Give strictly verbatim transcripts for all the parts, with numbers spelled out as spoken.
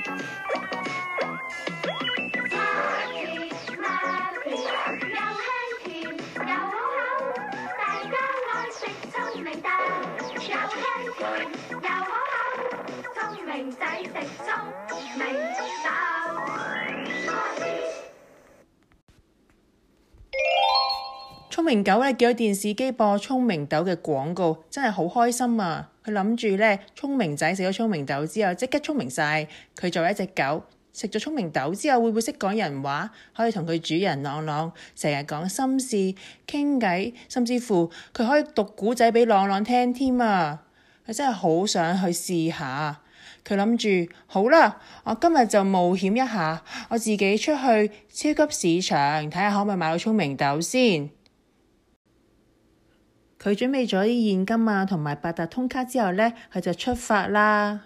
聰明狗咧見到電視機播聰明豆嘅廣告，真係好開心啊！佢諗住咧，聰明仔食咗聰明豆之後，即刻聰明晒。佢作為一隻狗，食咗聰明豆之後，會唔會識講人話？可以同佢主人朗朗成日講心事、傾偈，甚至乎佢可以讀古仔俾朗朗聽添啊！佢真係好想去試下。佢諗住好啦，我今日就冒險一下，我自己出去超級市場睇下可唔可以買到聰明豆先。佢準備咗啲現金啊，同埋八達通卡之後呢，佢就出發啦。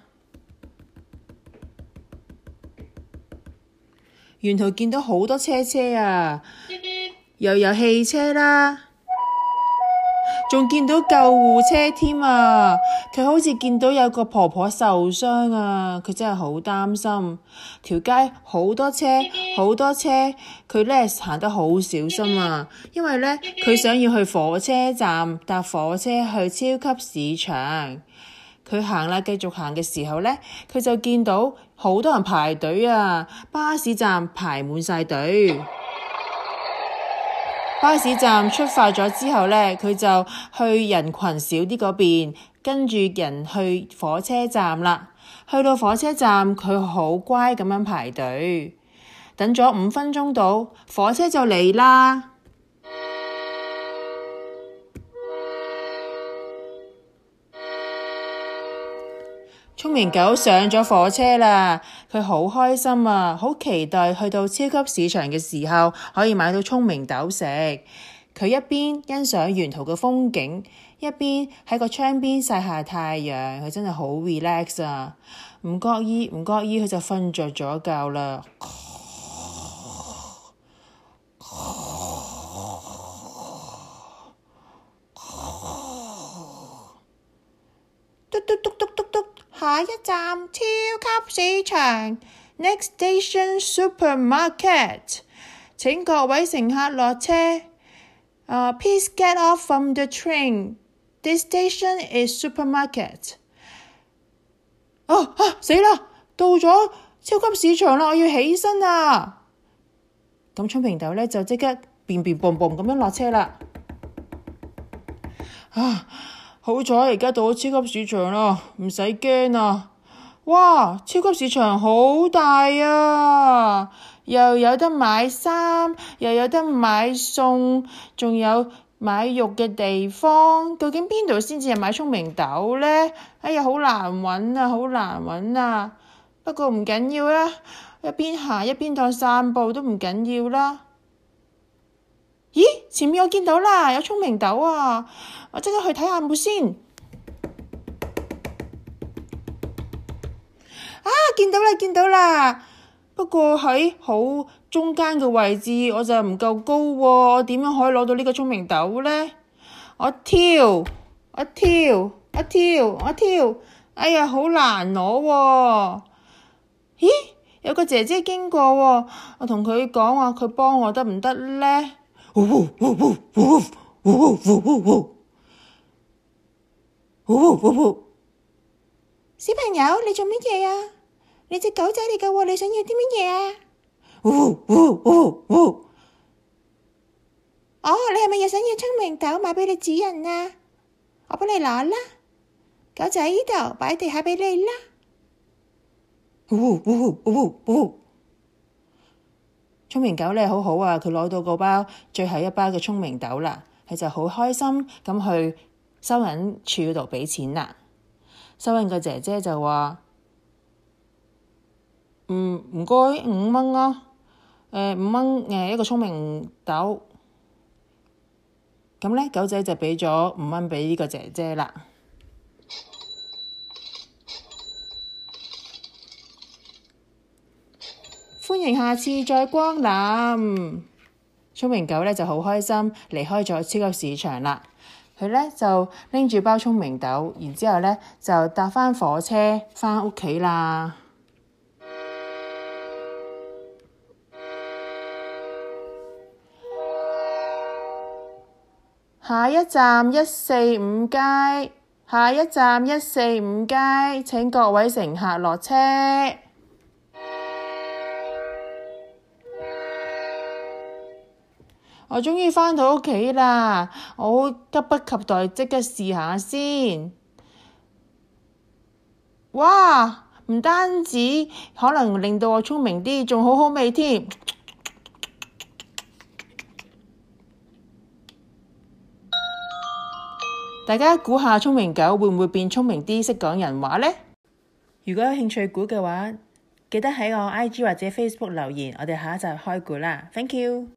沿途見到好多車車啊，又有汽車啦，仲見到救護車添啊！佢好似見到有個婆婆受傷啊，佢真係好擔心。條街好多車，好多車，佢咧行得好小心啊，因為咧佢想要去火車站搭火車去超級市場。佢行啦，繼續行嘅時候咧，佢就見到好多人排隊啊，巴士站排滿晒隊。巴士站出發咗之後呢，佢就去人群少啲嗰邊，跟住人去火車站啦。去到火車站，佢好乖咁樣排隊，等咗五分鐘到，火車就嚟啦。聰明狗上咗火車啦，佢好開心啊，好期待去到超級市場嘅時候可以買到聰明豆食。佢一邊欣賞沿途嘅風景，一邊喺個窗邊曬下太陽，佢真係好 relax 啊！唔覺意唔覺意佢就瞓着咗覺啦。嘟嘟嘟嘟嘟嘟，下一站超級市場 ，Next station supermarket。請各位乘客落車。Uh, please get off from the train. This station is supermarket. 啊啊死啦！到咗超級市場啦，我要起身啊！咁聰明豆咧就即刻變變蹦蹦咁樣落車啦。啊！好彩而家到咗超級市場啦，唔使驚啊！哇，超級市場好大啊，又有得買衫，又有得買餸，仲有買肉嘅地方。究竟邊度先至係買聰明豆呢？哎呀，好難揾啊，好難揾啊！不過唔緊要啦，一邊行一邊當散步都唔緊要啦。咦，前面我見到啦，有聰明豆啊！我即刻去睇下冇先。啊，見到啦，見到啦！不過喺好中間嘅位置，我就唔夠高喎，我點樣可以攞到呢個聰明豆呢？我跳，我跳，我跳，我跳，哎呀，好難攞喎！咦，有個姐姐經過喎，我同佢講話，佢幫我得唔得呢？嗚嗚嗚嗚嗚嗚嗚嗚嗚嗚！小朋友，你做乜嘢啊？你隻狗仔嚟㗎喎，你想要啲乜嘢啊？嗚嗚嗚嗚！哦，你係咪又想要聰明豆買俾你主人啊？我幫你攞啦，狗仔喺呢度擺地下俾你啦。嗚嗚嗚嗚！聰明狗咧好好啊，佢攞到個包最後一包嘅聰明豆啦，佢就好開心咁去收銀處嗰度俾錢啦。收銀個姐姐就話：嗯，唔該，五蚊啊，誒五蚊誒一個聰明豆。咁咧狗仔就俾咗五蚊俾呢個姐姐啦。歡迎下次再光臨。聰明狗咧就好開心離開咗超級市場啦。佢咧就拎住包聰明豆，然之後咧就搭返火車返屋企啦。 下一站一四五街，下一站一四五街，請各位乘客落車。我終於返到屋企啦，我好急不及待即刻試下先。哇！唔單止可能令到我聰明啲，仲好好味添。大家估下聰明狗會唔會變聰明啲，識講人話呢？如果有興趣估嘅話，記得喺我 I G 或者 Facebook 留言，我哋下一集開估啦。Thank you。